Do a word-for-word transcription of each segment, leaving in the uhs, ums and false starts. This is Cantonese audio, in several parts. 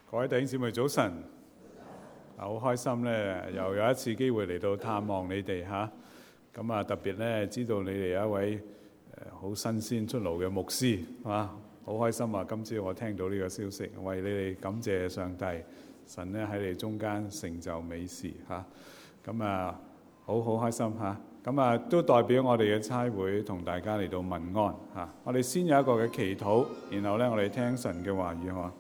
各位弟兄姊妹早晨，好開心咧，又有一次機會嚟到探望你哋嚇。咁啊，特別咧知道你哋有一位誒好新鮮出爐嘅牧師，係嘛？好開心啊！今朝我聽到呢個消息，為你哋感謝上帝，神咧喺你中間成就美事嚇。咁啊，好好開心嚇。咁啊，都代表我哋嘅差會同大家嚟到問安嚇。我哋先有一個嘅祈禱，然後咧我哋聽神嘅話語嚇。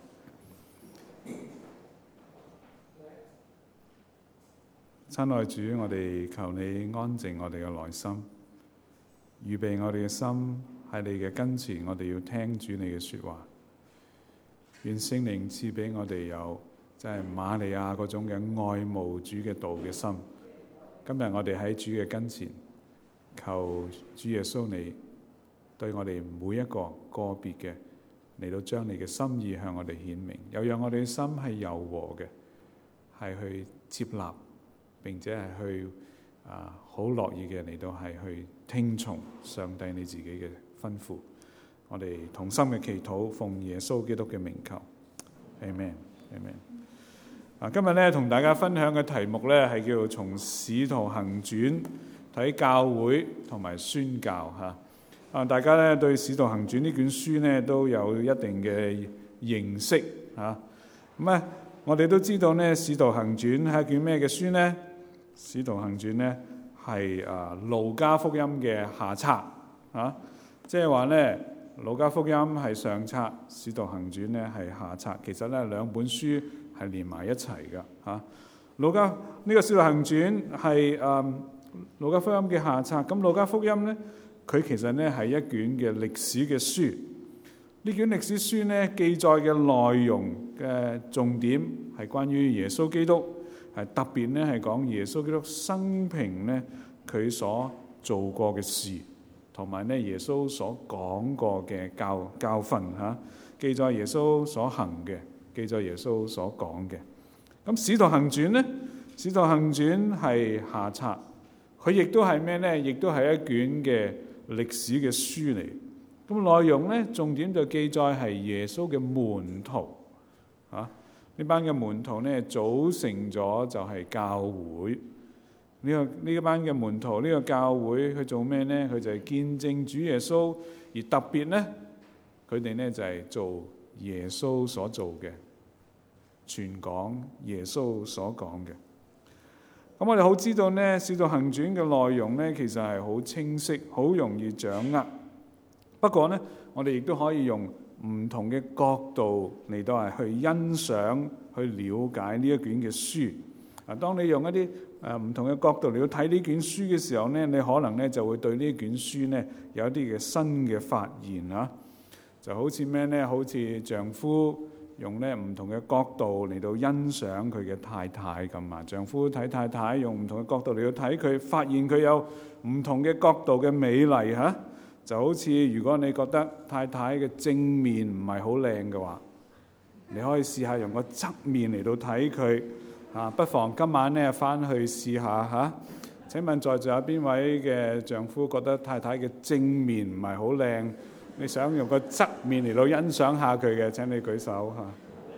親愛主，我哋求你安靜我哋嘅內心，預備我哋嘅心喺你嘅跟前，我哋要聽主你嘅說話。願聖靈賜俾我哋有即係瑪利亞嗰種嘅愛慕主嘅道嘅心。今日我哋喺主嘅跟前，求主耶穌你對我哋每一個個別嘅嚟到將你嘅心意向我哋顯明，又讓我哋嘅心係柔和嘅，係去接納。並且係去啊，好樂意嘅嚟到係去聽從上帝你自己嘅吩咐。我哋同心嘅祈禱，奉耶穌基督嘅名求。Amen Amen。啊，今日咧同大家分享嘅題目咧係叫做從使徒行傳睇教會同埋宣教嚇。啊，大家咧對使徒行傳呢卷書咧都有一定嘅認識嚇。咁啊，我哋都知道咧，使徒行傳係一卷咩嘅書呢？使徒行傳咧係啊路加福音嘅下冊啊，即係話咧路加福音係上冊，使徒行傳咧係下冊。其實咧兩本書係連埋一齊㗎嚇。路加呢個使徒行傳係啊路加福音嘅下冊。咁路加福音咧，佢其實咧係一卷嘅歷史嘅書。呢卷歷史書咧記載嘅內容嘅重點係關於耶穌基督。係特別咧，係講耶穌基督生平咧，佢所做過嘅事，同埋咧耶穌所講過嘅教教訓嚇，記載耶穌所行嘅，記載耶穌所講嘅。咁使徒行傳咧，使徒行傳係下冊，佢亦都係咩咧？亦都係一卷嘅歷史嘅書嚟。咁內容咧，重點就記載係耶穌嘅門徒嚇。呢班嘅門徒咧組成咗就係教會。呢個呢一班嘅門徒，呢個教會佢做咩咧？佢就係見證主耶穌，而特別咧，佢哋咧就係做耶穌所做嘅，傳講耶穌所講嘅。咁我哋好知道咧，使徒行傳嘅內容咧，其實係好清晰，好容易掌握。不過咧，我哋亦都可以用唔同嘅角度嚟到係去欣賞、去了解呢一卷嘅書。啊，當你用一啲誒唔同嘅角度嚟到睇呢卷書嘅時候咧，你可能咧就會對呢卷書咧有一啲嘅新嘅發現啊。就好似咩咧？好似丈夫用咧唔同嘅角度嚟到欣賞佢嘅太太咁啊。丈夫睇太太用唔同嘅角度嚟到睇佢，發現佢有唔同嘅角度嘅美麗嚇。就好似如果你覺得太太嘅正面唔係好靚嘅話，你可以試下用個側面嚟到睇佢啊。不妨今晚咧翻去試下嚇。請問在座有邊位嘅丈夫覺得太太嘅正面唔係好靚？你想用個側面嚟到欣賞下佢嘅？請你舉手嚇。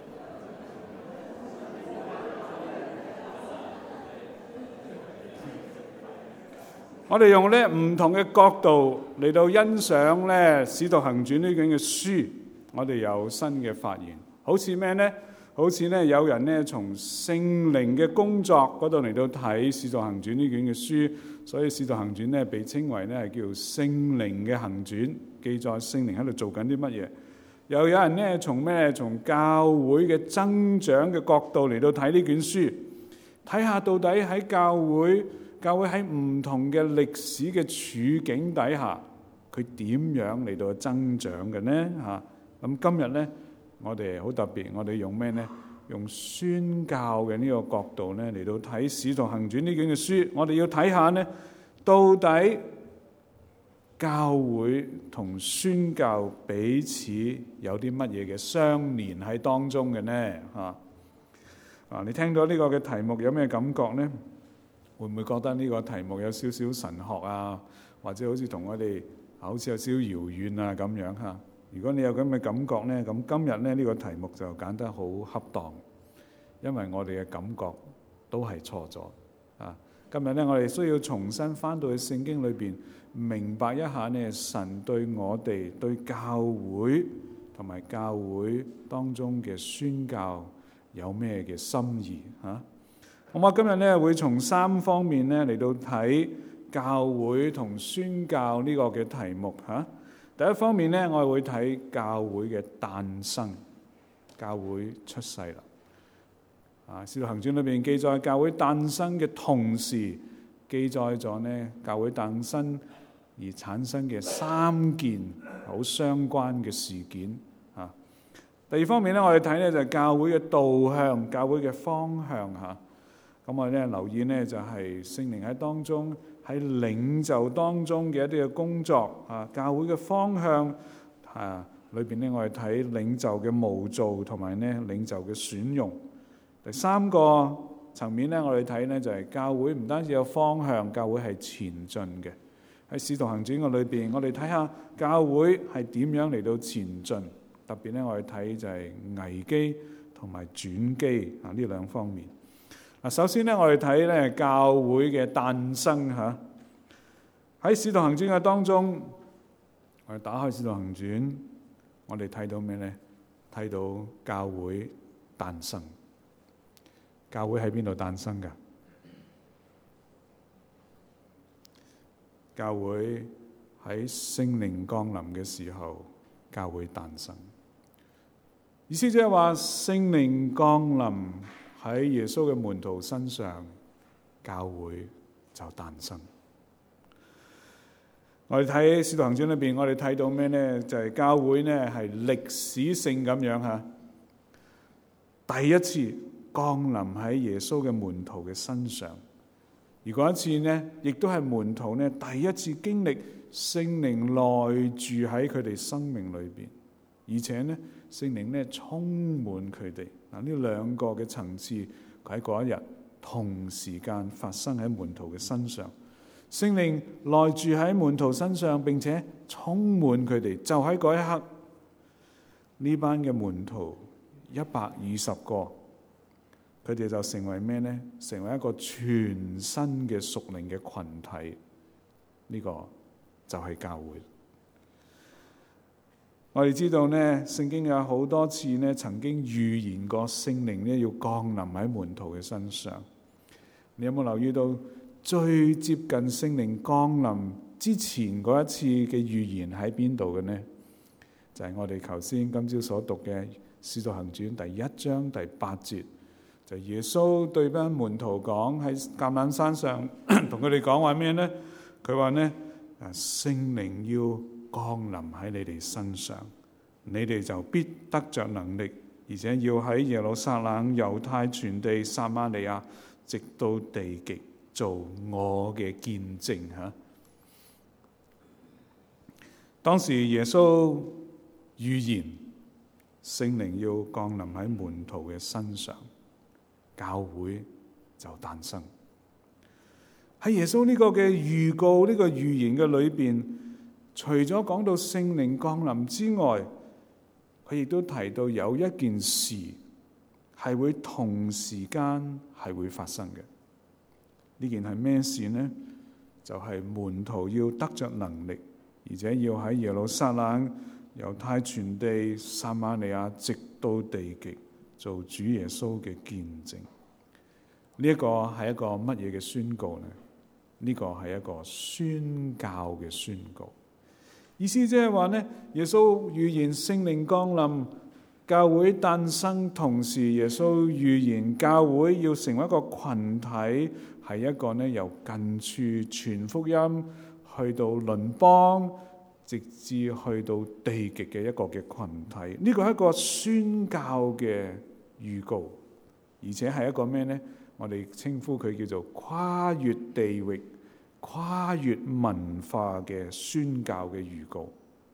我哋用咧唔同嘅角度嚟到欣賞咧《使徒行傳》呢卷嘅書，我哋有新嘅發現。好似咩呢？好似咧有人咧從聖靈嘅工作嗰度嚟到睇《使徒行傳》呢卷嘅書，所以《使徒行傳》咧被稱為咧係叫聖靈嘅行傳，記載聖靈喺度做緊啲乜嘢。又有人咧從咩？從教會嘅增長嘅角度嚟到睇呢卷書，睇下到底喺教會。教會喺唔同嘅歷史嘅處境底下，佢點樣嚟到增長嘅呢？嚇，咁今日呢，我哋好特別，我哋用咩呢？用宣教嘅呢個角度呢嚟到睇《使徒行傳》呢卷嘅書。我哋要睇下呢，到底教會同宣教彼此有啲乜嘢嘅相連喺當中嘅呢？嚇，啊，你聽到呢個嘅題目有咩感覺呢？會唔會覺得呢個題目有少少神學啊，或者好似同我哋好似有少少遙遠啊咁樣嚇？ 如果你有咁嘅感覺呢，咁今日呢呢個題目就揀得好恰當，因為我哋嘅感覺都係錯咗啊！今日呢，我哋需要重新翻到去聖經裏邊，明白一下呢神對我哋、對教會同埋教會當中嘅宣教有咩嘅心意啊！咁我今日呢會從三方面呢嚟到睇教會同宣教呢個嘅題目嚇。第一方面呢，我會睇教會嘅誕生，教會出世啦。啊，《使徒行傳》裏邊記載教會誕生嘅同時，記載咗呢教會誕生而產生嘅三件好相關嘅事件。啊，第二方面呢，我哋睇呢就係教會嘅導向，教會嘅方向嚇。咁我哋咧留意呢，就係聖靈喺當中，喺領袖當中嘅一啲嘅工作啊，教會嘅方向啊裏邊呢，我哋睇領袖嘅模造同埋呢領袖嘅選用。第三個層面呢，我哋睇呢就係教會唔單止有方向，教會係前進嘅。喺使徒行傳嘅裏邊，我哋睇下教會係點樣嚟到前進。特別呢，我哋睇就係危機同埋轉機啊呢兩方面。嗱，首先咧，我哋睇咧教會嘅誕生嚇。喺《使徒行傳》嘅當中，我哋打開《使徒行傳》，我哋睇到咩咧？睇到教會誕生。教會喺邊度誕生㗎？教會喺聖靈降臨嘅時候，教會誕生。意思即係話聖靈降臨喺耶穌嘅門徒身上，教會就誕生。我哋睇《使徒行傳》裏邊，我哋睇到咩呢？就係、是、教會呢係歷史性咁樣吓，第一次降臨喺耶穌嘅門徒嘅身上。而嗰一次呢，亦都係門徒呢第一次經歷聖靈內住喺佢哋生命裏邊，而且呢聖靈呢充滿佢哋。嗱，呢兩個嘅層次喺嗰一日同時間發生喺門徒嘅身上，聖靈內住喺門徒身上，並且充滿佢哋。就喺嗰一刻，呢班嘅門徒一百二十個，佢哋就成為咩呢？成為一個全新嘅屬靈嘅群體。呢個就係教會。我哋知道呢，聖經有好多次呢曾經預言過聖靈呢要降臨喺門徒嘅身上。你有冇留意到最接近聖靈降臨之前嗰一次嘅預言喺邊度嘅呢？就係、是、我哋頭先今朝所讀嘅《使徒行傳》第一章第八節，就是、耶穌對班門徒講，喺橄欖山上同佢哋講話咩呢？佢話呢，聖靈要降臨喺你哋身上，你哋就必得着能力，而且要喺耶路撒冷、猶太全地、撒瑪利亞，直到地極，做我嘅見證吓。當時耶穌預言聖靈要降臨喺門徒嘅身上，教會就誕生。喺耶穌呢個嘅預告、呢個預言嘅裏邊，除咗講到聖靈降臨之外，佢亦都提到有一件事係會同時間係會發生嘅。呢件係咩事呢？就係、是、門徒要得着能力，而且要喺耶路撒冷、猶太全地、撒瑪利亞，直到地極，做主耶穌嘅見證。呢、這、一個係一個乜嘢嘅宣告呢？呢、這個係一個宣教嘅宣告。意思即係話呢，耶穌預言聖靈降臨，教會誕生，同時耶穌預言教會要成為一個群體，係一個呢由近處傳福音去到鄰邦，直至去到地極嘅一個嘅群體。呢個係一個宣教嘅預告，而且係一個咩呢？我哋稱呼佢叫做跨越地域、跨越文化嘅宣教嘅預告。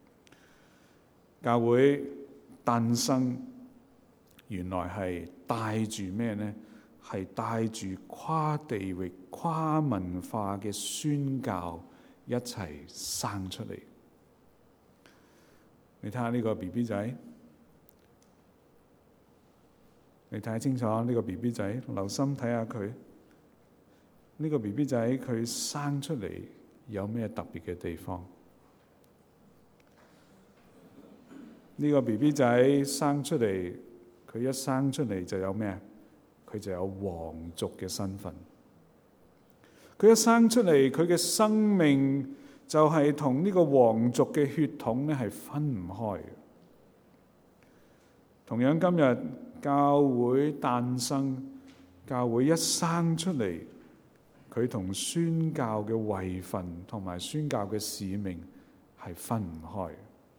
教會誕生原來係帶住咩呢？係帶住跨地域、跨文化嘅宣教一齊生出嚟。 你睇下呢個 B B 仔，你睇清楚呢個 B B 仔，留心睇下佢。呢個 B B 仔佢生出嚟有咩特別嘅地方？呢個 B B 仔生出嚟，佢一生出嚟就有咩？佢就有皇族嘅身份。佢一生出嚟，佢嘅生命就係同呢個皇族嘅血統咧係分唔開嘅。同樣今日教會誕生，教會一生出嚟，佢同宣教嘅位份同埋宣教嘅使命係分唔開。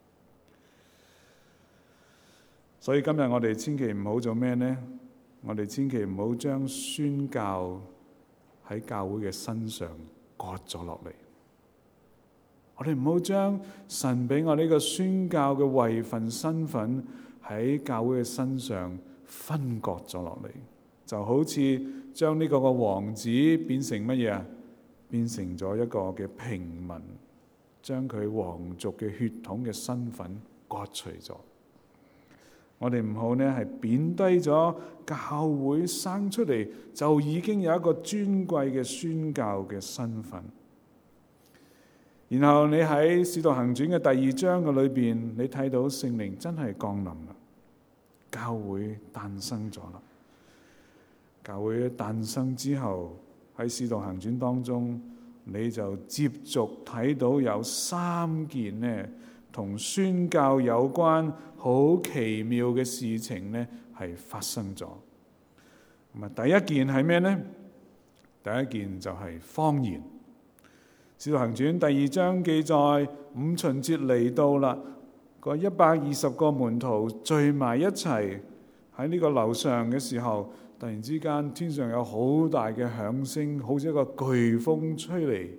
所以今日我哋千祈唔好做咩呢？我哋千祈唔好將宣教喺教會嘅身上割咗落嚟。我哋唔好將神俾我呢個宣教嘅位份身份喺教會嘅身上分割咗落嚟，就好似將呢個個王子變成乜嘢啊？變成咗一個嘅平民，將佢皇族嘅血統嘅身份割除咗。我哋唔好呢係貶低咗教會生出嚟就已經有一個尊貴嘅宣教嘅身份。然後你喺《使徒行傳》嘅第二章嘅裏邊，你睇到聖靈真係降臨啦，教會誕生咗啦。教會誕生之後，喺《使徒行傳》當中，你就接續睇到有三件呢同宣教有關好奇妙嘅事情呢係發生咗。咁啊，第一件係咩呢？第一件就係方言。《使徒行傳》第二章記載，五旬節嚟到啦，個一百二十個門徒聚埋一齊喺呢個樓上嘅時候，突然之間天上有好大嘅響聲，好似一個颶風吹嚟，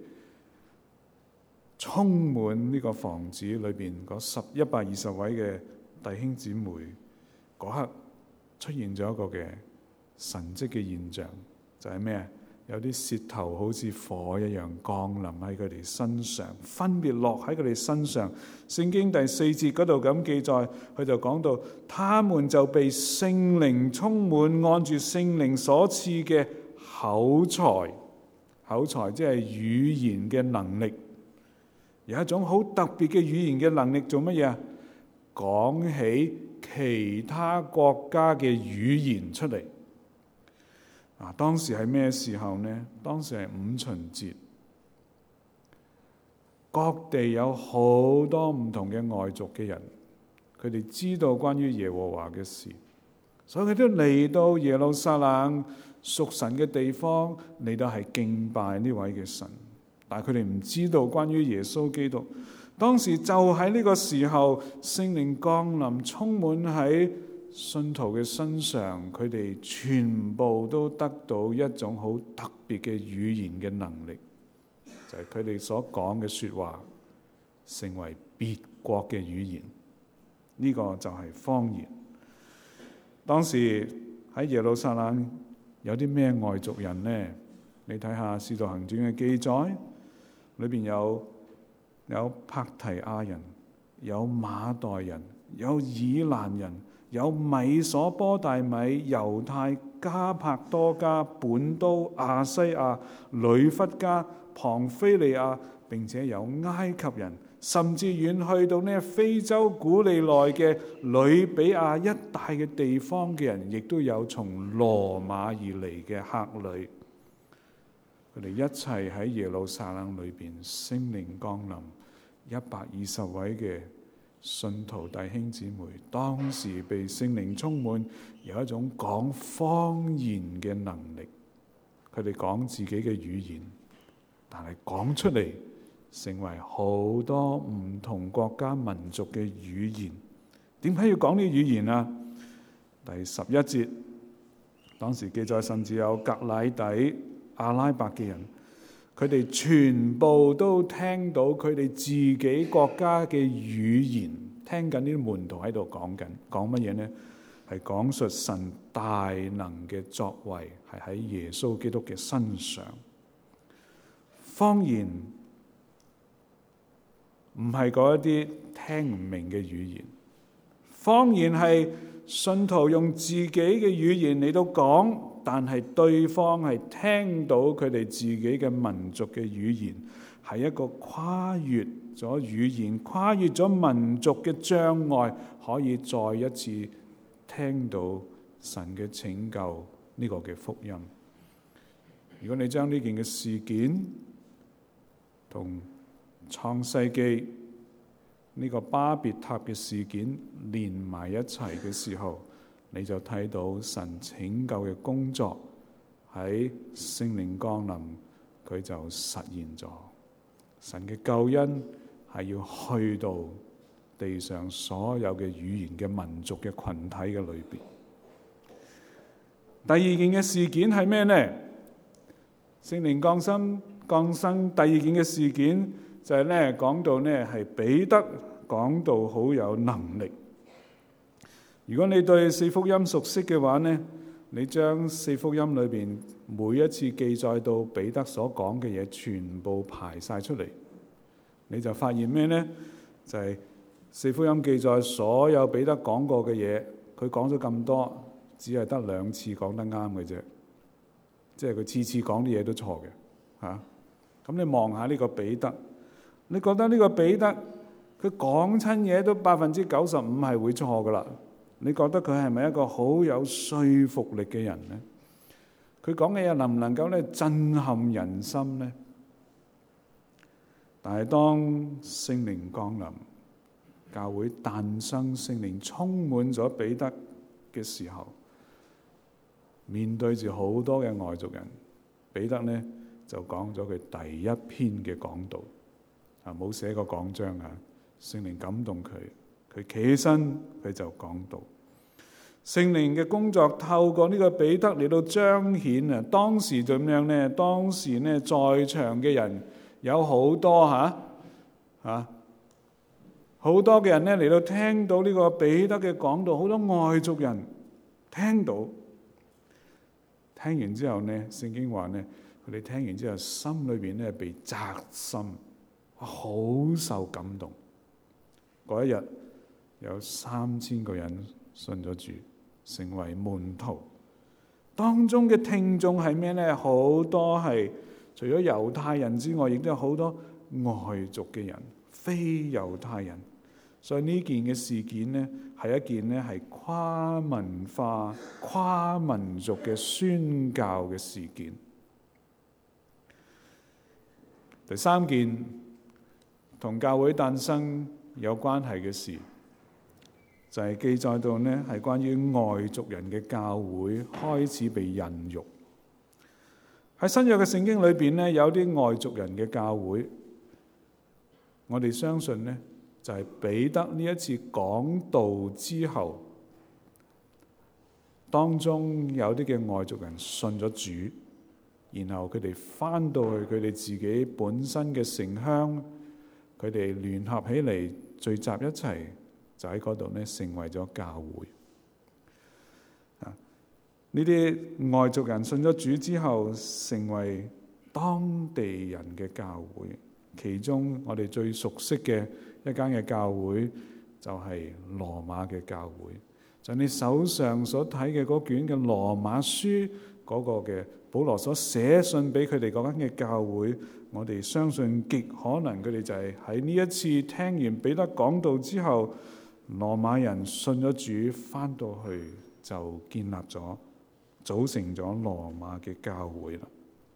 充滿呢個房子裏邊嗰十一百二十位嘅弟兄姊妹。嗰刻出現咗一個嘅神蹟嘅現象，就係咩？有啲舌頭好似火一樣降臨喺佢哋身上，分別落喺佢哋身上。聖經第四節嗰度咁記載，佢就講到，他們就被聖靈充滿，按住聖靈所賜嘅口才，口才即係語言嘅能力。有一種好特別嘅語言嘅能力，做乜嘢？講起其他國家嘅語言出嚟。啊！當時係咩時候呢？當時係五旬節，各地有好多唔同嘅外族嘅人，佢哋知道關於耶和華嘅事，所以佢都嚟到耶路撒冷屬神嘅地方，嚟到係敬拜呢位嘅神。但係佢哋唔知道關於耶穌基督。當時就喺呢個時候，聖靈降臨，充滿喺信徒嘅身上，佢哋全部都得到一種好特別嘅語言嘅能力，就係佢哋所講嘅說話成為別國嘅語言。呢個就係方言。當時喺耶路撒冷有啲咩外族人呢？你睇下《使徒行傳》嘅記載，裏邊有有帕提亞人，有馬代人，有以蘭人，有米所波大米、猶太、加帕多家、本都、亞西亞、呂弗家、龐菲利亞，並且有埃及人，甚至遠去到呢非洲古利奈嘅呂比亞一帶嘅地方嘅人，亦都有從羅馬而嚟嘅客旅。佢哋一齊喺耶路撒冷裏邊，聖靈降臨，一百二十位嘅信徒弟兄姊妹，當時被聖靈充滿，有一種講方言嘅能力。佢哋講自己嘅語言，但係講出嚟成為好多唔同國家民族嘅語言。點解要講呢啲語言啊？第十一節，當時記載甚至有格乃底、阿拉伯嘅人，佢哋全部都聽到佢哋自己國家嘅語言，聽緊呢啲門徒喺度講緊，講乜嘢呢？係講述神大能嘅作為，係喺耶穌基督嘅身上。方言唔係嗰一啲聽唔明嘅語言。方言係信徒用自己嘅語言嚟到講，但係對方係聽到佢哋自己嘅民族嘅語言，係一個跨越咗語言、跨越咗民族嘅障礙，可以再一次聽到神嘅拯救呢個嘅福音。如果你將呢件嘅事件同創世記呢個巴別塔嘅事件連埋一齊嘅時候，你就睇到神拯救嘅工作喺聖靈降臨，佢就實現咗。神嘅救恩係要去到地上所有嘅語言嘅民族嘅群體嘅裏邊。第二件嘅事件係咩呢？聖靈降生降生第二件嘅事件就係咧，講到呢係彼得講到好有能力。如果你對四福音熟悉嘅話呢，你將四福音裏邊每一次記載到彼得所講嘅嘢全部排晒出嚟，你就發現咩呢？就係、是、四福音記載所有彼得講過嘅嘢，佢講咗咁多，只係得兩次講得啱嘅啫，即係佢次次講啲嘢都錯嘅嚇。咁你望下呢個彼得，你覺得呢個彼得佢講親嘢都百分之九十五係會錯噶啦？你覺得佢係咪一個好有說服力嘅人呢？佢講嘅嘢能唔能夠咧震撼人心呢？但係當聖靈降臨，教會誕生，聖靈充滿咗彼得嘅時候，面對住好多嘅外族人，彼得呢就講咗佢第一篇嘅講道，啊冇寫過講章啊，聖靈感動佢。佢企起身，佢就講道。聖靈嘅工作透過呢個彼得嚟到彰顯啊！當時點樣呢？當時呢，在場嘅人有好多嚇嚇，好多嘅人呢嚟到聽到呢個彼得嘅講道，好多外族人聽到，聽完之後呢，聖經話呢，佢哋聽完之後心裏邊呢被扎心，好受感動。嗰一日，有三千個人信咗主，成為門徒。當中嘅聽眾係咩呢？好多係除咗猶太人之外，亦都有好多外族嘅人，非猶太人。所以呢件嘅事件呢，係一件呢係跨文化、跨民族嘅宣教嘅事件。第三件同教會誕生有關係嘅事，就係記載到呢係關於外族人嘅教會開始被孕育。喺新約嘅聖經裏邊呢，有啲外族人嘅教會，我哋相信呢就係彼得呢一次講道之後，當中有啲嘅外族人信咗主，然後佢哋翻到去佢哋自己本身嘅城鄉，佢哋聯合起嚟聚集一齊，就喺嗰度呢成為咗教會。呢啲外族人信咗主之後，成為當地人嘅教會。其中我哋最熟悉嘅一間嘅教會就係羅馬嘅教會。就係你手上所睇嘅嗰卷嘅羅馬書嗰個嘅保羅所寫信俾佢哋嗰間嘅教會，我哋相信極可能佢哋就係喺呢一次聽完彼得講道之後，羅馬人信咗主，翻到去就建立咗、組成咗羅馬嘅教會啦。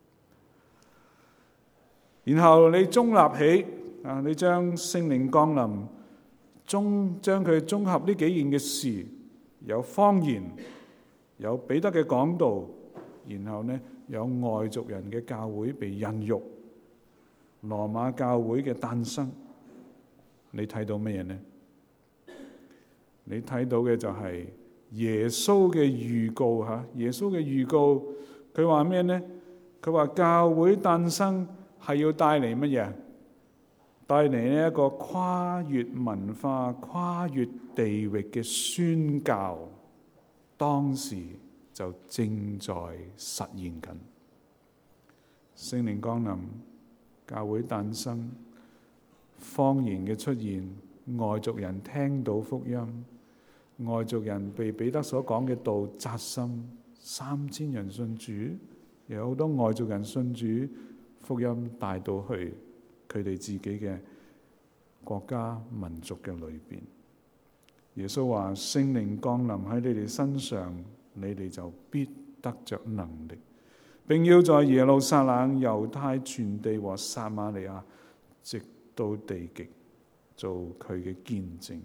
然後你綜合起啊，你將聖靈降臨，中將佢綜合呢幾件嘅事，有方言，有彼得嘅講道，然後呢有外族人嘅教會被孕育，羅馬教會嘅誕生，你睇到咩呢？你睇到嘅就係耶穌嘅預告吓，耶穌嘅預告，佢話咩呢？佢話教會誕生係要帶嚟乜嘢？帶嚟呢一個跨越文化、跨越地域嘅宣教，當時就正在實現緊。聖靈降臨，教會誕生， 方言嘅出現，外族人聽到福音，外族人被彼得所講嘅道扎心，三千人信主，有好多外族人信主，福音帶到去佢哋自己嘅國家民族嘅裏邊。耶穌話：聖靈降臨喺你哋身上，你哋就必得着能力，並要在耶路撒冷、猶太全地和撒瑪利亞，直到地極，做佢嘅見證。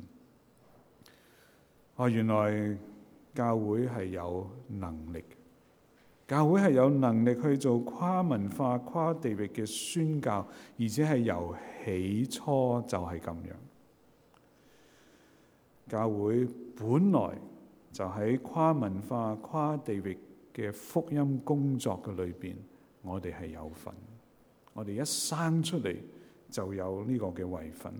哦，原來教會係有能力，教會係有能力去做跨文化、跨地域嘅宣教，而且係由起初就係咁樣。教會本來就喺跨文化、跨地域嘅福音工作嘅裏邊，我哋係有份。我哋一生出嚟就有呢個嘅位份。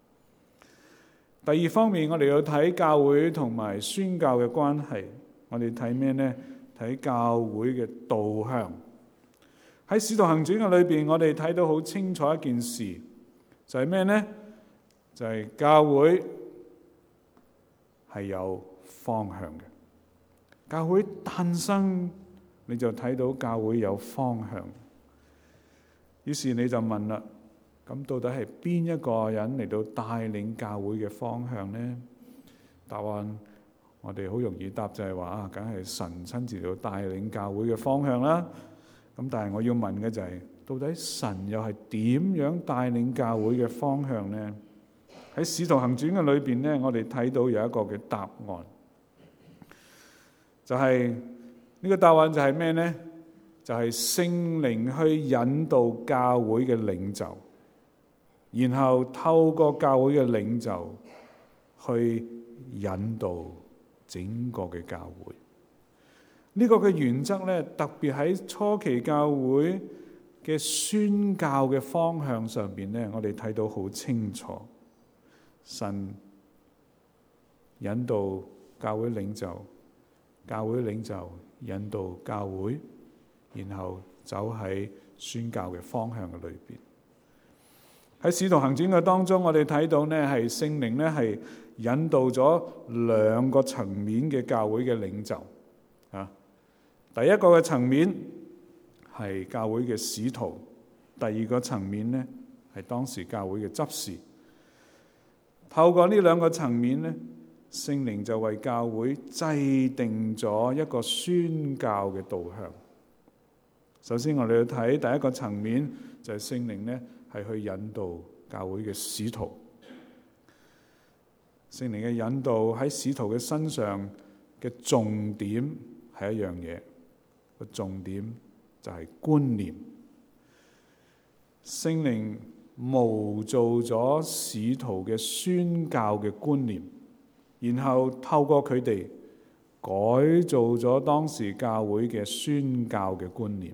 第二方面，我哋要睇教會同埋宣教嘅關係。我哋睇咩呢？睇教會嘅導向。喺《使徒行傳》嘅裏邊，我哋睇到好清楚一件事，就係咩呢？就係教會係有方向嘅。教會誕生，你就睇到教會有方向。於是你就問啦，咁到底係邊一個人嚟到帶領教會嘅方向呢？答案我哋好容易答，就係話啊，梗係神親自嚟到帶領教會嘅方向啦。咁但係我要問嘅就係，到底神又係點樣帶領教會嘅方向呢？喺《使徒行傳》嘅裏邊呢，我哋睇到有一個嘅答案，就係呢個答案就係咩呢？就係聖靈去引導教會嘅領袖，然後透過教會嘅領袖去引導整個嘅教會。呢個嘅原則咧，特別喺初期教會嘅宣教嘅方向上邊咧，我哋睇到好清楚。神引導教會領袖，教會領袖引導教會，然後走喺宣教嘅方向嘅裏邊。喺使徒行傳嘅當中，我哋睇到呢係聖靈呢係引導咗兩個層面嘅教會嘅領袖啊。第一個嘅層面係教會嘅使徒，第二個層面呢係當時教會嘅執事。透過呢兩個層面呢，聖靈就為教會制定咗一個宣教嘅導向。首先我哋要睇第一個層面，就係聖靈呢係去引導教會嘅使徒。聖靈嘅引導喺使徒嘅身上嘅重點係一樣嘢，個重點就係觀念。聖靈模造咗使徒嘅宣教嘅觀念，然後透過佢哋改造咗當時教會嘅宣教嘅觀念。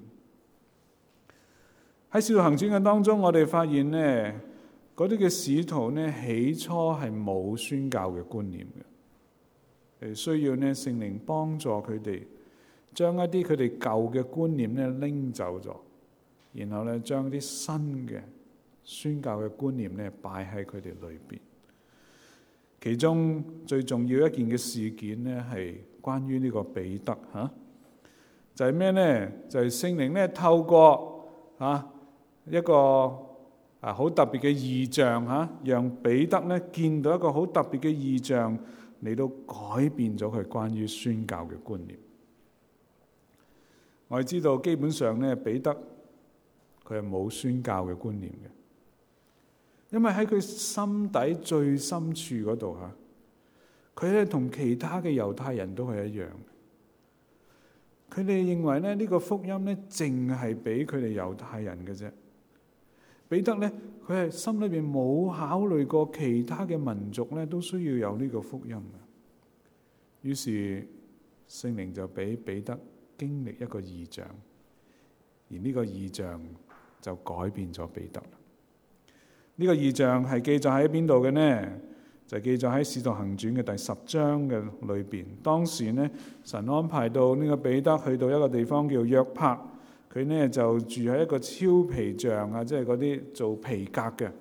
喺使徒行傳嘅當中，我哋發現呢嗰啲嘅使徒呢，起初係冇宣教嘅觀念嘅，係需要呢聖靈幫助佢哋，將一啲佢哋舊嘅觀念呢拎走咗，然後呢將啲新嘅宣教嘅觀念呢擺喺佢哋裏邊。其中最重要一件嘅事件呢，係關於呢個彼得吓、啊，就係、是、咩呢？就係、是、聖靈呢透過啊一個啊好特別嘅異象吓，讓彼得呢見到一個好特別嘅異象，嚟到改變咗佢關於宣教嘅觀念。我哋知道基本上呢，彼得佢係冇宣教嘅觀念嘅。因為喺佢心底最深處嗰度吓，佢咧同其他嘅猶太人都係一樣。佢哋認為咧呢個福音咧淨係俾佢哋猶太人嘅啫。彼得咧佢係心裏邊冇考慮過其他嘅民族咧都需要有呢個福音嘅。於是聖靈就俾彼得經歷一個異象，而呢個異象就改變咗彼得。呢個異象係記載喺邊度嘅呢？就係記載喺《使徒行傳》嘅第十章嘅裏邊。當時呢，神安排到呢個彼得去到一個地方叫約帕，佢呢就住喺一個超皮匠啊，即係嗰啲做皮革嘅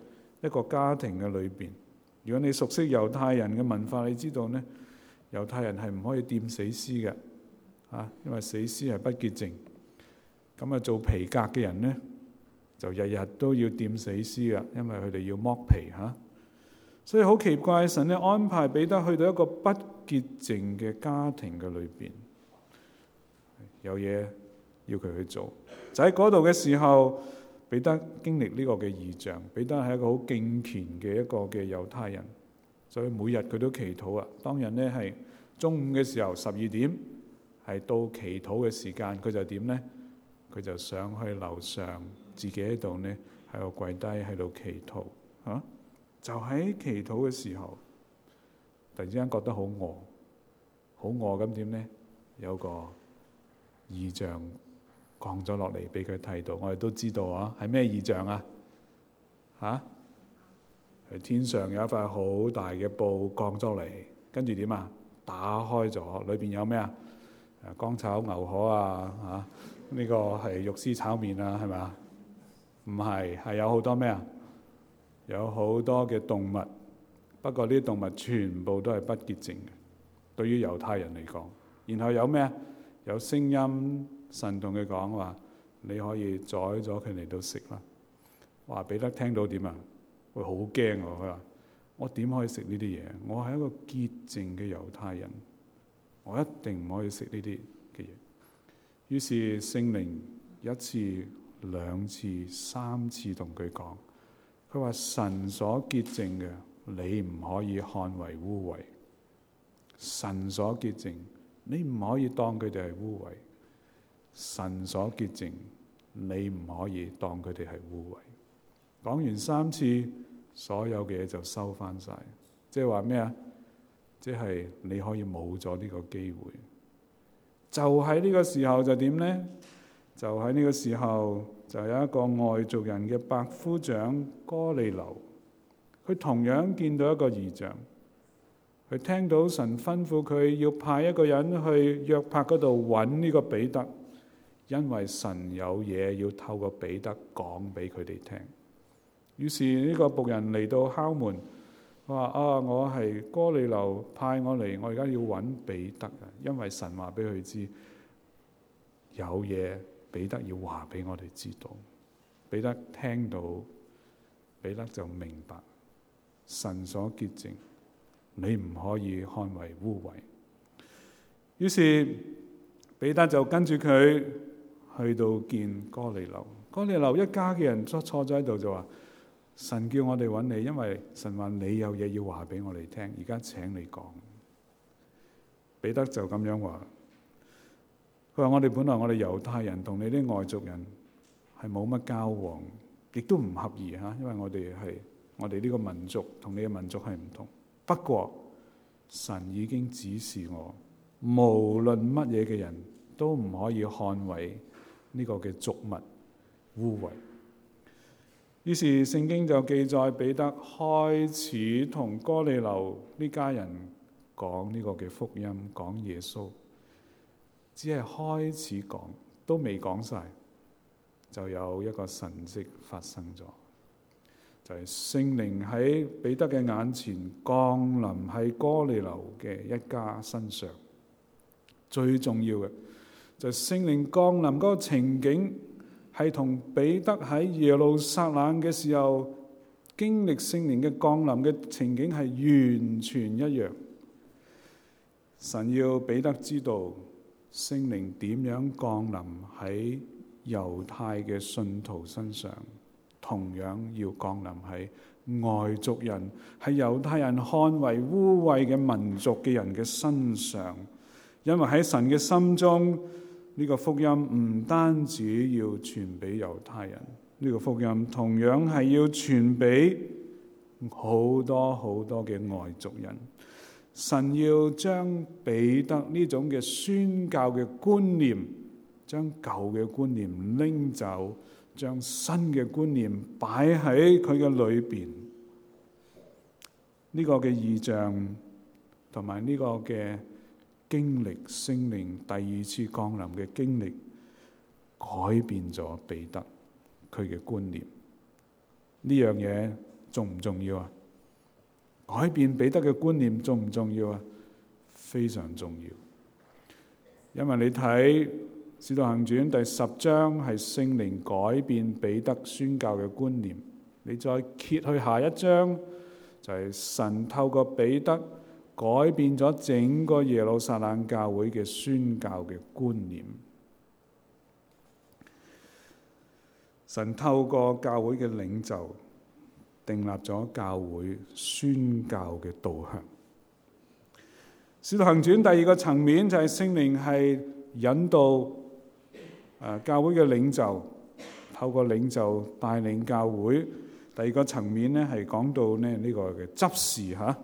一個家庭嘅裏邊。如果你熟悉猶太人嘅文化，你知道呢，猶太人係唔可以掂死屍嘅，啊，因為死屍係不潔淨。咁啊，做皮革嘅人呢，就日日都要掂死屍嘅，因為佢哋要剝皮嚇、啊。所以好奇怪，神咧安排彼得去到一個不潔淨嘅家庭嘅裏邊，有嘢要佢去做。就喺嗰度嘅時候，彼得經歷呢個嘅異象。彼得係一個好敬虔嘅一個嘅猶太人，所以每日佢都祈禱啊。當日呢係中午嘅時候，十二點係到祈禱嘅時間，佢就點呢？佢就上去樓上，自己喺度呢喺度跪低喺度祈禱嚇。啊就喺祈禱嘅時候，突然之間覺得好餓，好餓咁點呢？有個異象降咗落嚟俾佢睇到，我哋都知道啊，係咩異象啊？嚇、啊，係天上有一塊好大嘅布降咗嚟，跟住點啊？打開咗，裏邊有咩啊？乾炒牛河啊，嚇、啊，呢、呢個係肉絲炒麵啊，係咪啊？唔係，係有好多咩啊？有好多嘅動物，不過呢啲動物全部都係不潔淨嘅，對於猶太人嚟講。然後有咩？有聲音，神同佢講話：你可以宰咗佢嚟到食啦。話彼得聽到點啊？會好驚喎！佢話：我點可以食呢啲嘢？我係一個潔淨嘅猶太人，我一定唔可以食呢啲嘅嘢。於是聖靈一次、兩次、三次同佢講。佢話：神所潔淨嘅，你唔可以看為污穢；神所潔淨，你唔可以當佢哋係污穢；神所潔淨，你唔可以當佢哋係污穢。講完三次，所有嘅嘢就收翻晒。即係話咩啊？即係你可以冇咗呢個機會。就喺呢個時候就點呢？就喺呢個時候，就有一個外族人嘅百夫長哥尼流，佢同樣見到一個異象。佢聽到神吩咐佢要派一個人去約帕嗰度揾呢個彼得，因為神有嘢要透過彼得講俾佢哋聽。於是呢個僕人嚟到敲門，話：啊，我係哥尼流派我嚟，我而家要揾彼得啊！因為神話俾佢知有嘢。彼得要話俾我哋知道，彼得聽到，彼得就明白神所潔淨，你唔可以看為污穢。於是彼得就跟住佢去到見哥尼流，哥尼流一家嘅人坐坐咗喺度就話：神叫我哋揾你，因為神話你有嘢要話俾我哋聽，而家請你講。彼得就咁樣話。佢話：我哋本來我哋猶太人同你啲外族人係冇乜交往，亦都唔合宜嚇，因為我哋係我哋呢個民族同你嘅民族係唔同。不過神已經指示我，無論乜嘢嘅人都唔可以看為呢個嘅俗物污穢。於是聖經就記載彼得開始同哥尼流呢家人講呢個嘅福音，講耶穌。只係開始講，都未講晒，就有一個神蹟發生咗，就係聖靈喺彼得嘅眼前降臨喺哥尼流嘅一家身上。最重要嘅就係聖靈降臨嗰個情景，係同彼得喺耶路撒冷嘅時候經歷聖靈嘅降臨嘅情景係完全一樣。神要彼得知道。聖靈點樣降臨喺猶太嘅信徒身上，同樣要降臨喺外族人，係猶太人看為污穢嘅民族嘅人嘅身上。因為喺神嘅心中，呢個福音唔單止要傳俾猶太人，呢個福音同樣係要傳俾好多好多嘅外族人。神要將彼得呢種嘅宣教嘅觀念，將舊嘅觀念拎走，將新嘅觀念擺喺佢嘅裏邊。呢個嘅異象同埋呢個嘅經歷，聖靈第二次降臨嘅經歷，改變咗彼得佢嘅觀念。呢樣嘢重唔重要啊？改變彼得嘅觀念重唔重要啊？非常重要。因為你睇《使徒行傳》第十章係聖靈改變彼得宣教嘅觀念，你再揭去下一章就係神透過彼得改變咗整個耶路撒冷教會嘅宣教嘅觀念。神透過教會嘅領袖訂立咗教會宣教嘅導向。使徒行傳第二個層面就係聖靈係引導誒教會嘅領袖，透過領袖帶領教會。第二個層面咧係講到咧呢個嘅執事嚇。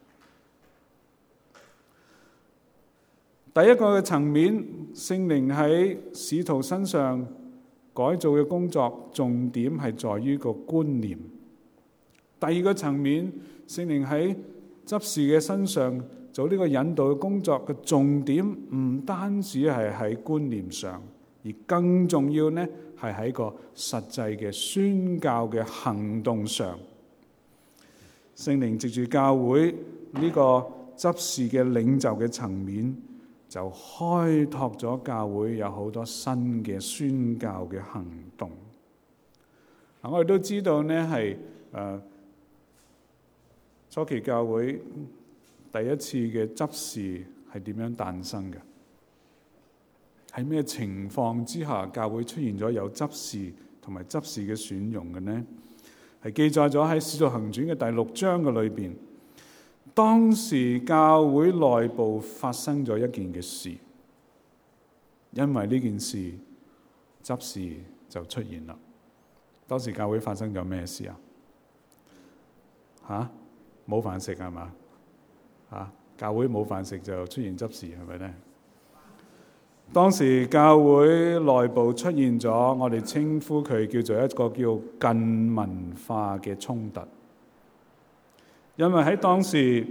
第一個嘅層面，聖靈喺使徒身上改造嘅工作重點係在於個觀念。第二個層面，聖靈喺執事嘅身上做呢個引導嘅工作嘅重點唔單止係喺觀念上，而更重要呢係喺個實際嘅宣教嘅行動上。聖靈藉住教會呢個執事嘅領袖嘅層面，就開拓咗教會有好多新嘅宣教嘅行動。嗱，我哋都知道呢係誒初期教會第一次嘅執事係點樣誕生嘅？喺咩情況之下教會出現咗有執事同埋執事嘅選用嘅呢？係記載咗喺《使徒行傳》嘅第六章嘅裏邊。當時教會內部發生咗一件嘅事，因為呢件事執事就出現啦。當時教會發生咗咩事啊？吓？冇飯食係嘛？吓？教會冇飯食就出現執事係咪呢？當時教會內部出現咗我哋稱呼佢叫做一個叫近文化嘅衝突。因為喺當時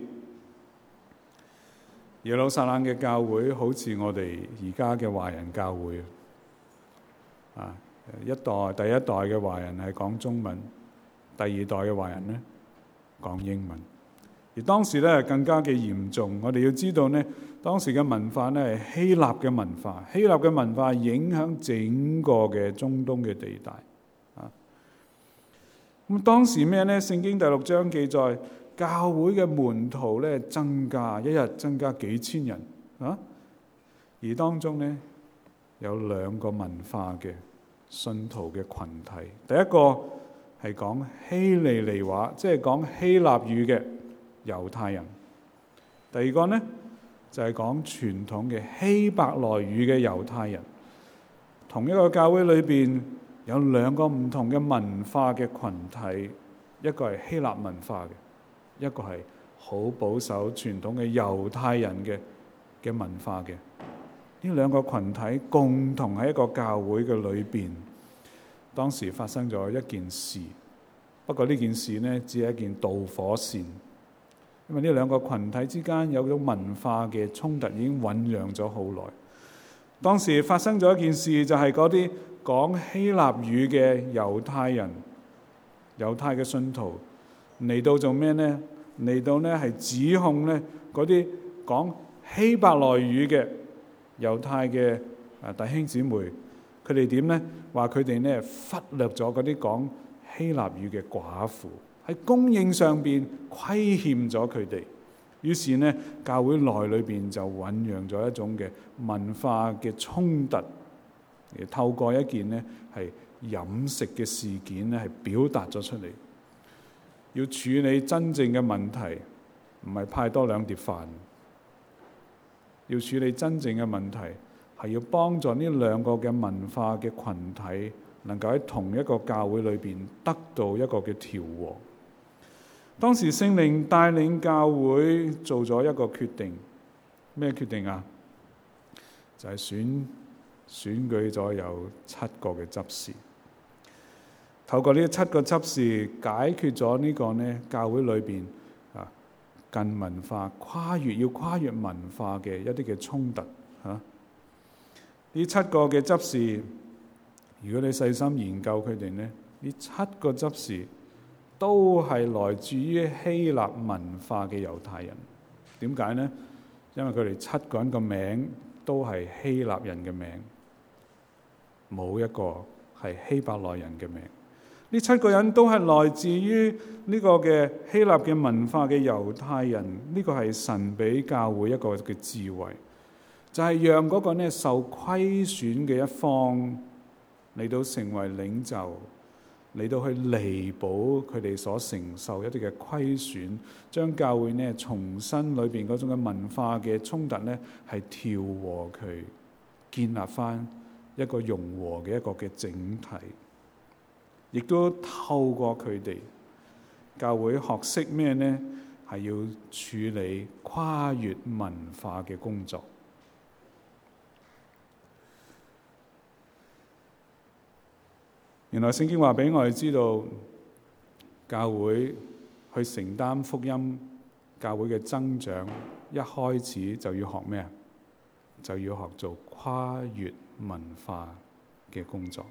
耶路撒冷嘅教會好似我哋而家嘅華人教會啊，一代第一代嘅華人係講中文，第二代嘅華人咧講英文。而當時咧更加嘅嚴重，我哋要知道咧，當時嘅文化咧係希臘嘅文化，希臘嘅文化影響整個嘅中東嘅地帶啊。咁當時咩咧？聖經第六章記載。教會嘅門徒咧增加，一日增加幾千人啊！而當中咧有兩個文化嘅信徒嘅群體。第一個係講希利尼話，即係講希臘語嘅猶太人；第二個咧就係講傳統嘅希伯來語嘅猶太人。同一個教會裏邊有兩個唔同嘅文化嘅群體，一個係希臘文化嘅。一個係好保守傳統嘅猶太人嘅嘅文化嘅，呢兩個群體共同喺一個教會嘅裏邊，當時發生咗一件事。不過呢件事呢，只係一件導火線，因為呢兩個群體之間有種文化嘅衝突已經醖釀咗好耐。當時發生咗一件事，就係嗰啲講希臘語嘅猶太人、猶太嘅信徒。嚟到做咩呢？嚟到呢係指控呢嗰啲講希伯來語嘅猶太嘅啊弟兄姊妹，佢哋點呢？話佢哋呢忽略咗嗰啲講希臘語嘅寡婦，喺供應上邊虧欠咗佢哋。於是呢，教會內裏邊就醖釀咗一種嘅文化嘅衝突，而透過一件呢係飲食嘅事件呢係表達咗出嚟。要處理真正嘅問題，唔係派多兩碟飯。要處理真正嘅問題，係要幫助呢兩個嘅文化嘅群體，能夠喺同一個教會裏邊得到一個嘅調和。當時聖靈帶領教會做咗一個決定，咩決定啊？就係選選舉咗有七個嘅執事。透過呢七個執事解決咗呢個呢教會裏邊啊近文化跨越要跨越文化嘅一啲嘅衝突嚇。呢、啊、七個嘅執事，如果你細心研究佢哋呢，呢七個執事都係來自於希臘文化嘅猶太人。點解呢？因為佢哋七個人個名都係希臘人嘅名，冇一個係希伯來人嘅名。呢七個人都係來自於呢個嘅希臘嘅文化嘅猶太人。呢個係神俾教會一個嘅智慧，就係讓嗰個呢受虧損嘅一方嚟到成為領袖，嚟到去彌補佢哋所承受一啲嘅虧損，將教會呢重新裏邊嗰種嘅文化嘅衝突呢係調和佢，建立翻一個融和嘅一個嘅整體。亦都透過佢哋，教會學識咩呢？係要處理跨越文化嘅工作。原來聖經話俾我哋知道，教會去承擔福音，教會嘅增長一開始就要學咩啊？就要學做跨越文化嘅工作。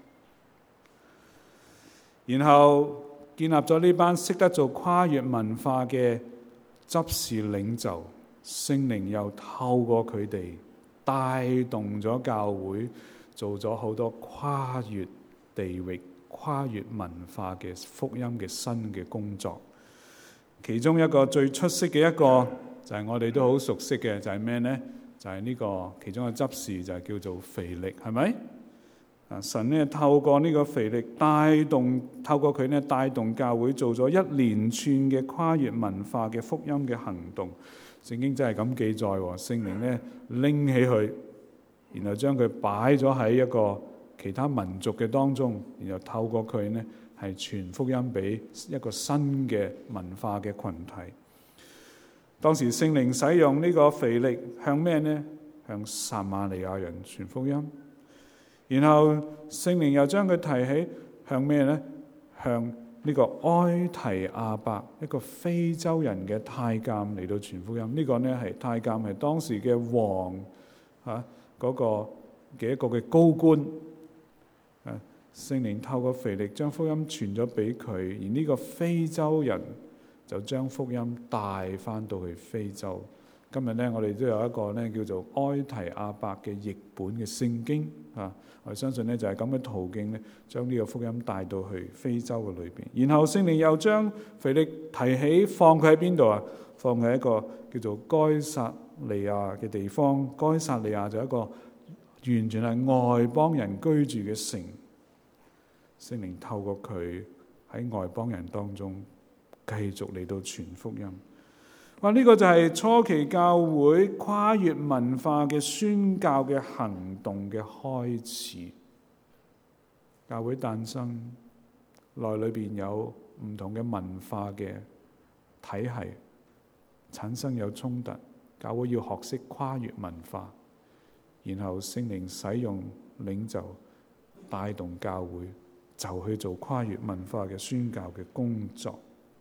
然後建立咗呢班識得做跨越文化嘅執事領袖，聖靈又透過佢哋帶動咗教會，做咗好多跨越地域、跨越文化嘅福音嘅新嘅工作。其中一個最出色嘅一個就係我哋都好熟悉嘅，就係咩呢？就係呢個其中嘅執事就係叫做腓力，係咪？神呢透過呢個腓力帶動，透過佢呢帶動教會做咗一連串嘅跨越文化嘅福音嘅行動。聖經真係咁記載，聖靈呢拎起佢，然後將佢擺咗喺一個其他民族嘅當中，然後透過佢呢係傳福音俾一個新嘅文化嘅群體。當時聖靈使用呢個腓力向咩呢？向撒瑪利亞人傳福音。然後聖靈又將佢提起向咩呢？向呢個埃提亞伯，一個非洲人嘅太監嚟到傳福音。呢、這個呢係太監，係當時嘅王啊嗰、那個嘅一個嘅高官。啊，聖靈透過腓力將福音傳咗俾佢，而呢個非洲人就將福音帶翻到去非洲。今日呢，我哋都有一個呢叫做埃提亞伯嘅譯本嘅聖經啊。我相信呢，就係咁嘅途徑呢，將呢個福音帶到去非洲嘅裏邊。然後聖靈又將腓力提起，放佢喺邊度啊？放喺一個叫做該撒利亞嘅地方。該撒利亞就係一個完全係外邦人居住嘅城。聖靈透過佢喺外邦人當中繼續嚟到傳福音。哇！呢個就係初期教會跨越文化嘅宣教嘅行動嘅開始。教會誕生，內裏邊有唔同嘅文化嘅體系，產生有衝突。教會要學識跨越文化，然後聖靈使用領袖帶動教會，就去做跨越文化嘅宣教嘅工作。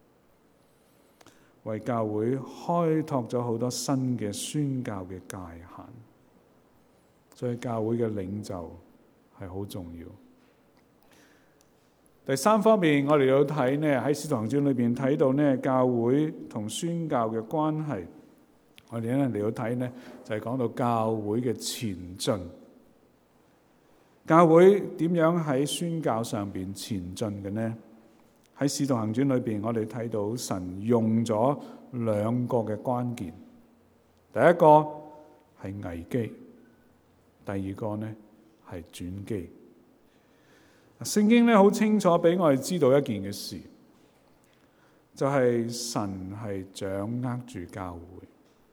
為教會開拓咗好多新嘅宣教嘅界限，所以教會嘅領袖係好重要。第三方面，我哋要睇呢喺《使徒行傳》裏邊睇到呢教會同宣教嘅關係。我哋咧嚟到睇呢，就係講到教會嘅前進。教會點樣喺宣教上邊前進嘅呢？喺《使徒行傳》裏邊，我哋睇到神用咗兩個嘅關鍵。第一個係危機，第二個呢係轉機。聖經咧好清楚俾我哋知道一件嘅事，就係神係掌握住教會。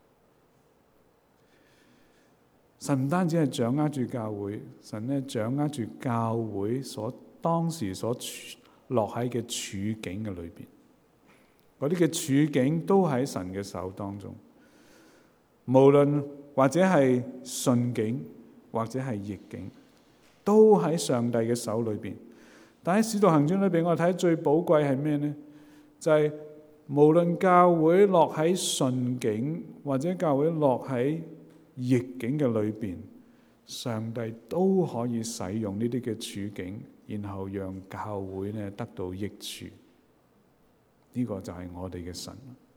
神唔單止係掌握住教會，神咧掌握住教會所當時所落喺嘅處境嘅裏邊，嗰啲嘅處境都喺神嘅手當中。無論或者係順境或者係逆境，都喺上帝嘅手裏邊。但喺《使徒行傳》裏邊，我睇最寶貴係咩呢？就係、是、無論教會落喺順境或者教會落喺逆境嘅裏邊，上帝都可以使用呢啲嘅處境，然後讓教會呢得到益處。 呢個就係我哋嘅神。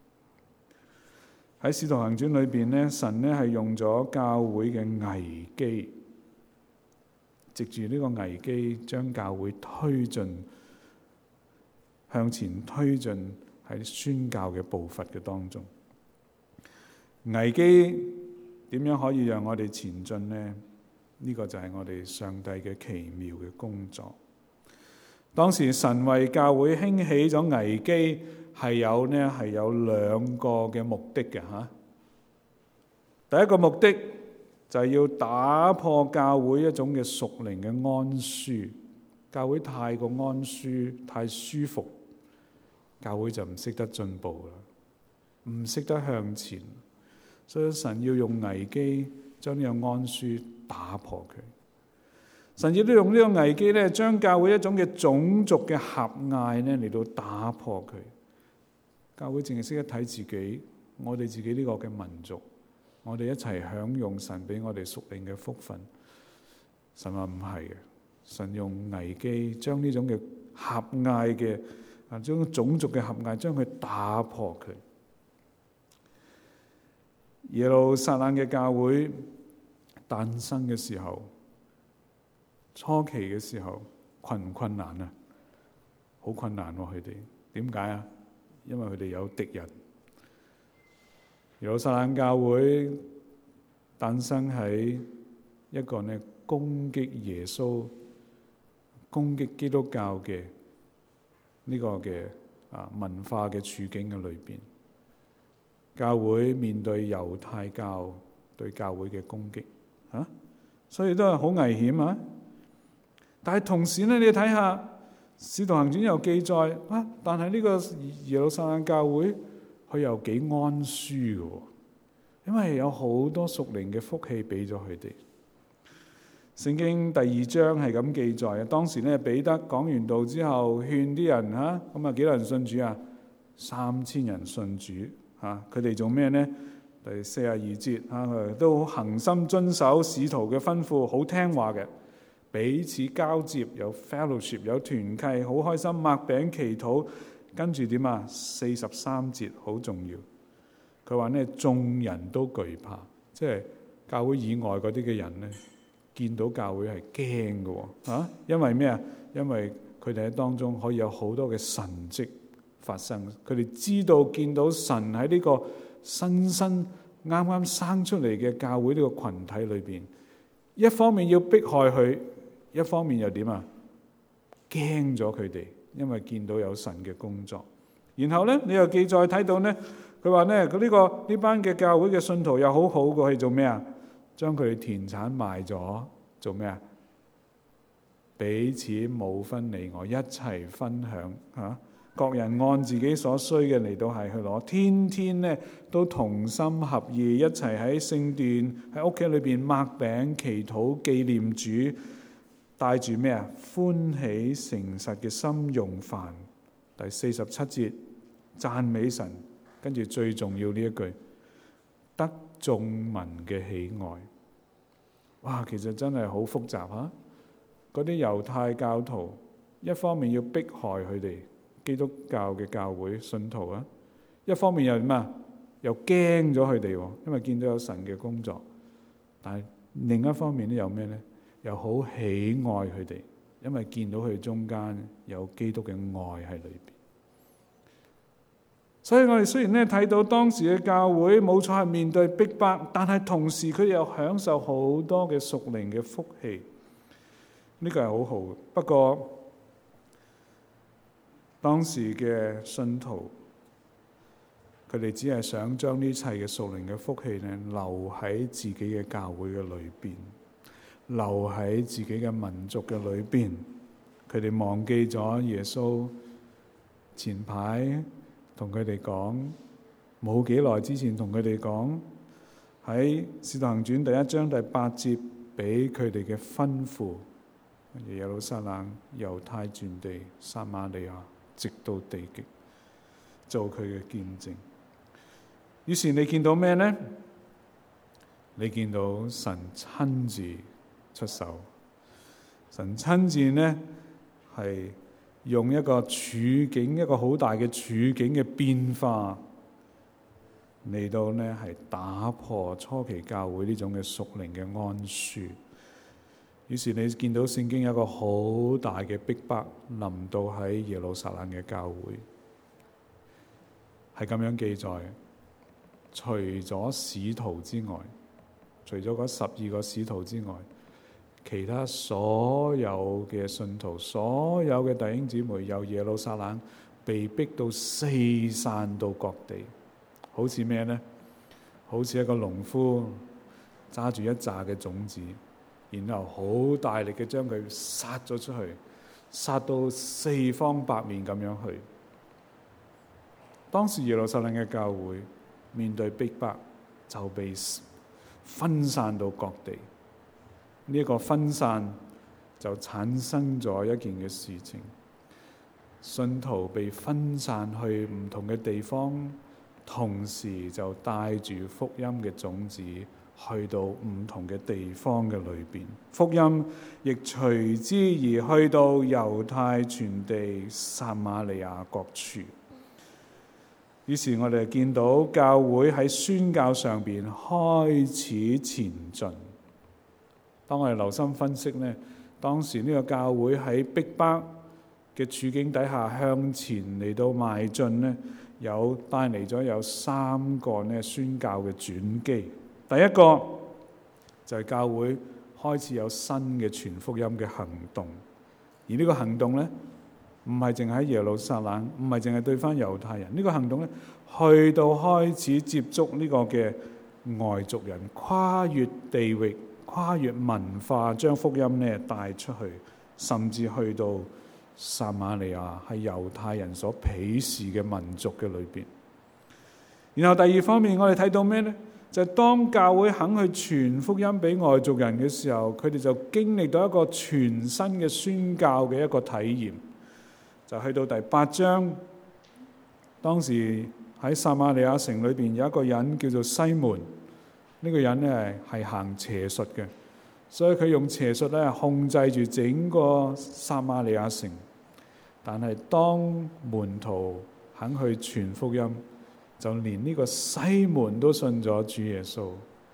喺《使徒行傳》裏邊咧，神咧係用咗教會嘅危機，藉住呢個危機將教會推進向前推進喺宣教嘅步伐嘅當中。危機點樣可以讓我哋前進呢？呢個就係我哋上帝嘅奇妙嘅工作。當時神為教會興起咗危機，係有呢係有兩個嘅目的嘅吓。第一個目的就係要打破教會一種嘅屬靈嘅安舒。教會太過安舒、太舒服，教會就唔識得進步啦，唔識得向前。所以神要用危機將呢個安舒打破佢。神亦都用呢個危機咧，將教會一種嘅種族嘅狹隘咧嚟到打破佢。教會淨係識得睇自己，我哋自己呢個嘅民族，我哋一齊享用神俾我哋屬靈嘅福分。神話唔係嘅，神用危機將呢種嘅狹隘嘅啊，將種族嘅狹隘將佢打破佢。耶路撒冷嘅教會誕生嘅時候，初期嘅時候困唔困難啊？好困難喎！佢哋點解啊？因為佢哋有敵人。耶路撒冷教會誕生喺一個呢攻擊耶穌、攻擊基督教嘅呢個嘅啊文化嘅處境嘅裏邊，教會面對猶太教對教會嘅攻擊啊，所以都係好危險啊！但係同時咧，你睇下《使徒行傳》又記載啊，但係呢個耶路撒冷教會佢又幾安舒嘅，因為有好多屬靈嘅福氣俾咗佢哋。聖經第二章係咁記載嘅，當時咧彼得講完道之後，勸啲人嚇，咁啊幾多人信主啊？三千人信主嚇，佢哋做咩呢？第四十二節嚇，佢都恒心遵守使徒嘅吩咐，好聽話嘅。彼此交接，有 fellowship， 有團契，好開心，擘餅祈禱。跟住點啊？四十三節好重要。佢話呢，眾人都懼怕，即係教會以外嗰啲嘅人呢，見到教會係驚嘅喎。因為咩啊？因為佢哋喺當中可以有好多嘅神蹟發生。佢哋知道見到神喺呢個新生啱啱生出嚟嘅教會呢個群體裏邊，一方面要迫害佢。一方面又點啊？驚咗佢哋，因為見到有神嘅工作。然後咧，你又記載睇到咧，佢話咧，佢呢個呢班嘅教會嘅信徒又好好過去做咩啊？將佢哋田產賣咗，做咩啊？彼此冇分你我，一齊分享嚇。各人按自己所需嘅嚟到係去攞，天天咧都同心合意，一齊喺聖殿喺屋企裏邊擘餅祈禱紀念主。帶住咩啊？歡喜誠實嘅心用飯。第四十七節讚美神，跟住最重要呢一句，得眾民嘅喜愛。哇，其實真係好複雜嚇。嗰啲猶太教徒一方面要迫害佢哋基督教嘅教會信徒啊，一方面又點啊？又驚咗佢哋，因為見到有神嘅工作。但係另一方面咧，有咩咧？又好喜愛佢哋，因為見到佢中間有基督嘅愛喺裏邊。所以我哋雖然咧睇到當時嘅教會冇錯係面對逼迫，但係同時佢哋又享受好多嘅屬靈嘅福氣。呢個係好好嘅。不過當時嘅信徒，佢哋只係想將呢一切嘅屬靈嘅福氣咧留喺自己嘅教會嘅裏邊。留喺自己嘅民族嘅裏邊，佢哋忘記咗耶穌前排同佢哋講，冇幾耐之前同佢哋講喺《使徒行傳》第一章第八節俾佢哋嘅吩咐，耶路撒冷、猶太全地、撒瑪利亞，直到地極，做佢嘅見證。於是你見到咩呢？你見到神親自出手，神親自呢係用一個處境，一個好大嘅處境嘅變化嚟到呢係打破初期教會呢種嘅屬靈嘅安舒。於是你見到聖經有一個好大嘅逼迫臨到喺耶路撒冷嘅教會，係咁樣記載。除咗使徒之外，除咗嗰十二個使徒之外，其他所有嘅信徒，所有嘅弟兄姊妹，由耶路撒冷被逼到四散到各地，好似咩呢？好似一個農夫揸住一紮嘅種子，然後好大力嘅將佢撒咗出去，撒到四方八面咁樣去。當時耶路撒冷嘅教會面對逼迫，就被分散到各地。呢、這、一個分散就產生咗一件嘅事情，信徒被分散去唔同嘅地方，同時就帶住福音嘅種子去到唔同嘅地方嘅裏邊，福音亦隨之而去到猶太全地、撒瑪利亞各處。於是我哋見到教會喺宣教上邊開始前進。當我哋留心分析呢，當時呢個教會喺逼迫嘅處境底下向前嚟到邁進呢，有帶嚟咗有三個呢宣教嘅轉機。第一個就係教會開始有新嘅傳福音嘅行動，而呢個行動呢，唔係淨喺耶路撒冷，唔係淨係對翻猶太人。呢、這個行動呢，去到開始接觸呢個嘅外族人，跨越地域、跨越文化，將福音呢帶出去，甚至去到撒瑪利亞，係猶太人所鄙視嘅民族嘅裏邊。然後第二方面，我哋睇到咩呢？就係、是、當教會肯去傳福音俾外族人嘅時候，佢哋就經歷到一個全新嘅宣教嘅一個體驗。就去到第八章，當時喺撒瑪利亞城裏邊有一個人叫做西門，呢、這個人咧係行邪術嘅，所以佢用邪術咧控制住整個撒瑪利亞城。但係當門徒肯去傳福音，就連呢個西門都信咗主耶穌。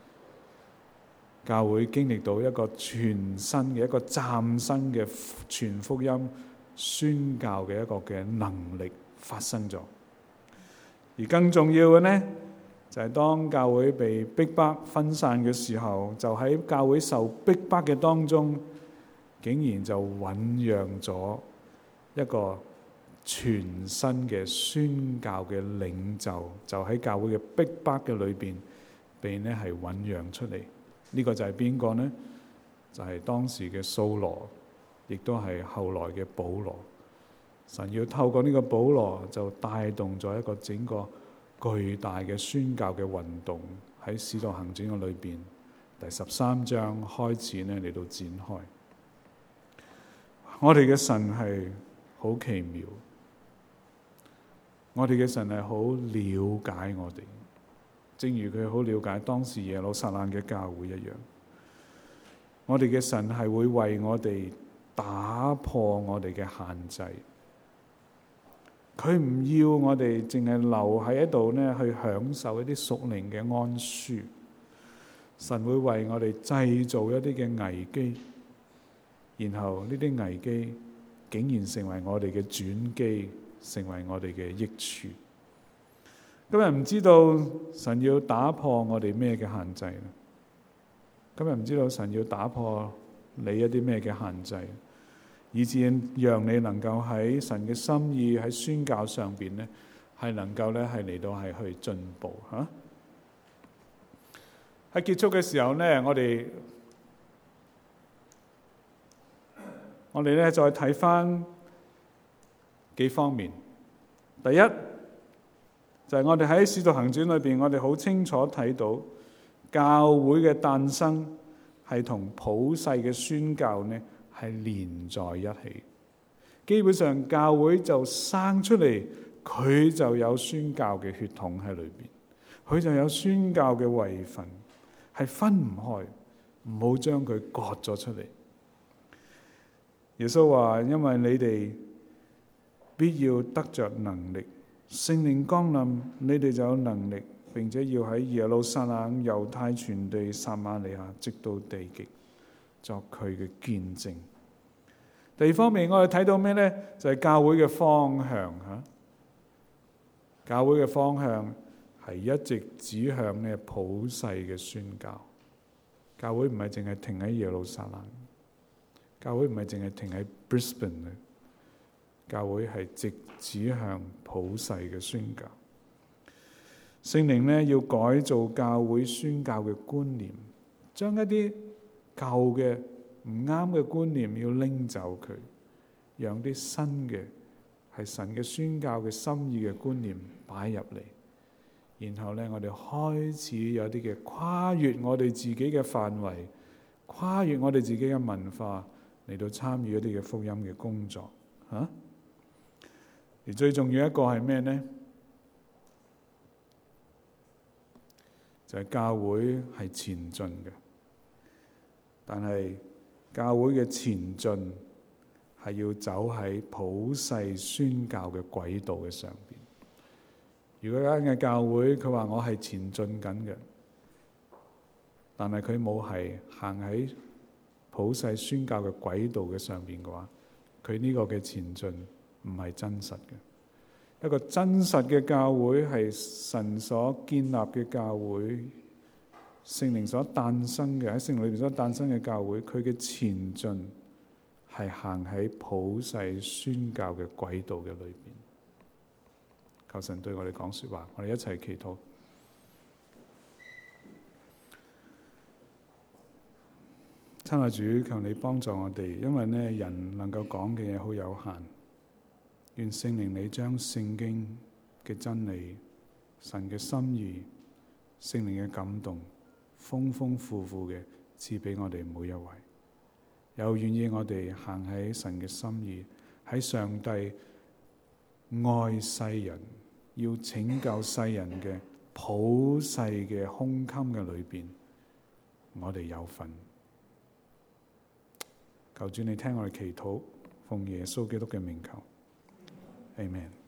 教會經歷到一個全新嘅一個嶄新嘅傳福音宣教嘅一個嘅能力發生咗。而更重要嘅呢，就係、是、當教會被逼迫分散嘅時候，就喺教會受逼迫嘅當中，竟然就醞釀咗一個全新嘅宣教嘅領袖，就喺教會嘅逼迫嘅裏邊被呢係醞釀出嚟。呢、這個就係邊個呢？就係、是、當時嘅掃羅，亦都係後來嘅保羅。神要透過呢個保羅，就帶動咗一個整個巨大嘅宣教嘅運動喺使徒行傳嘅裏邊，第十三章開始呢嚟到展開。我哋嘅神係好奇妙，我哋嘅神係好了解我哋，正如佢好了解當時耶路撒冷嘅教會一樣。我哋嘅神係會為我哋打破我哋嘅限制，佢唔要我哋淨係留喺一度呢去享受一啲屬靈嘅安舒。神會為我哋製造一啲嘅危機，然後呢啲危機竟然成為我哋嘅轉機，成為我哋嘅益處。今日唔知道神要打破我哋咩嘅限制呢？今日唔知道神要打破你一啲咩嘅限制，以致讓你能夠喺神嘅心意喺宣教上邊呢，係能夠咧係嚟到係去進步吓。喺結束嘅時候呢，我哋我哋咧再睇翻幾方面。第一就係、是、我哋喺使徒行傳裏邊，我哋好清楚睇到教會嘅誕生係同普世嘅宣教呢係連在一起。基本上教會就生出嚟，佢就有宣教嘅血統喺裏邊，佢就有宣教嘅位份，係分唔開，唔好將佢割咗出嚟。耶穌話：因為你哋必要得着能力。聖靈降臨，你哋就有能力，並且要喺耶路撒冷、猶太全地、撒瑪利亞，直到地極，作佢嘅見證。第二方面，我哋睇到咩呢？就係、是、教會嘅方向吓。教會嘅方向係一直指向呢普世嘅宣教。教會唔係淨係停喺耶路撒冷，教會唔係淨係停喺 Brisbane 嘅，教會係直指向普世嘅宣教。聖靈呢要改造教會宣教嘅觀念，將一啲舊嘅唔啱嘅觀念要拎走佢，讓啲新嘅係神嘅宣教嘅心意嘅觀念擺入嚟。然後咧，我哋開始有啲嘅跨越我哋自己嘅範圍，跨越我哋自己嘅文化嚟到參與一啲嘅福音嘅工作嚇、啊。而最重要一個係咩呢？就係、是、教會係前進嘅，但係教會嘅前進係要走喺普世宣教嘅軌道嘅上邊。如果間嘅教會佢話我係前進緊嘅，但係佢冇係行喺普世宣教嘅軌道嘅上邊嘅話，佢呢個嘅前進唔係真實嘅。一個真實嘅教會係神所建立嘅教會，聖靈所誕生嘅，喺聖靈裏邊所誕生嘅教會，佢嘅前進係行喺普世宣教嘅軌道嘅裏邊。求神對我哋講說話，我哋一齊祈禱。親愛主，求你幫助我哋，因為呢人能夠講嘅嘢好有限。願聖靈你將聖經嘅真理、神嘅心意、聖靈嘅感動，豐豐富富嘅賜俾我哋每一位。又願意我哋行喺神嘅心意，喺上帝愛世人，要拯救世人嘅普世嘅胸襟嘅裏邊，我哋有份。求主你聽我哋祈禱，奉耶穌基督嘅名求，Amen。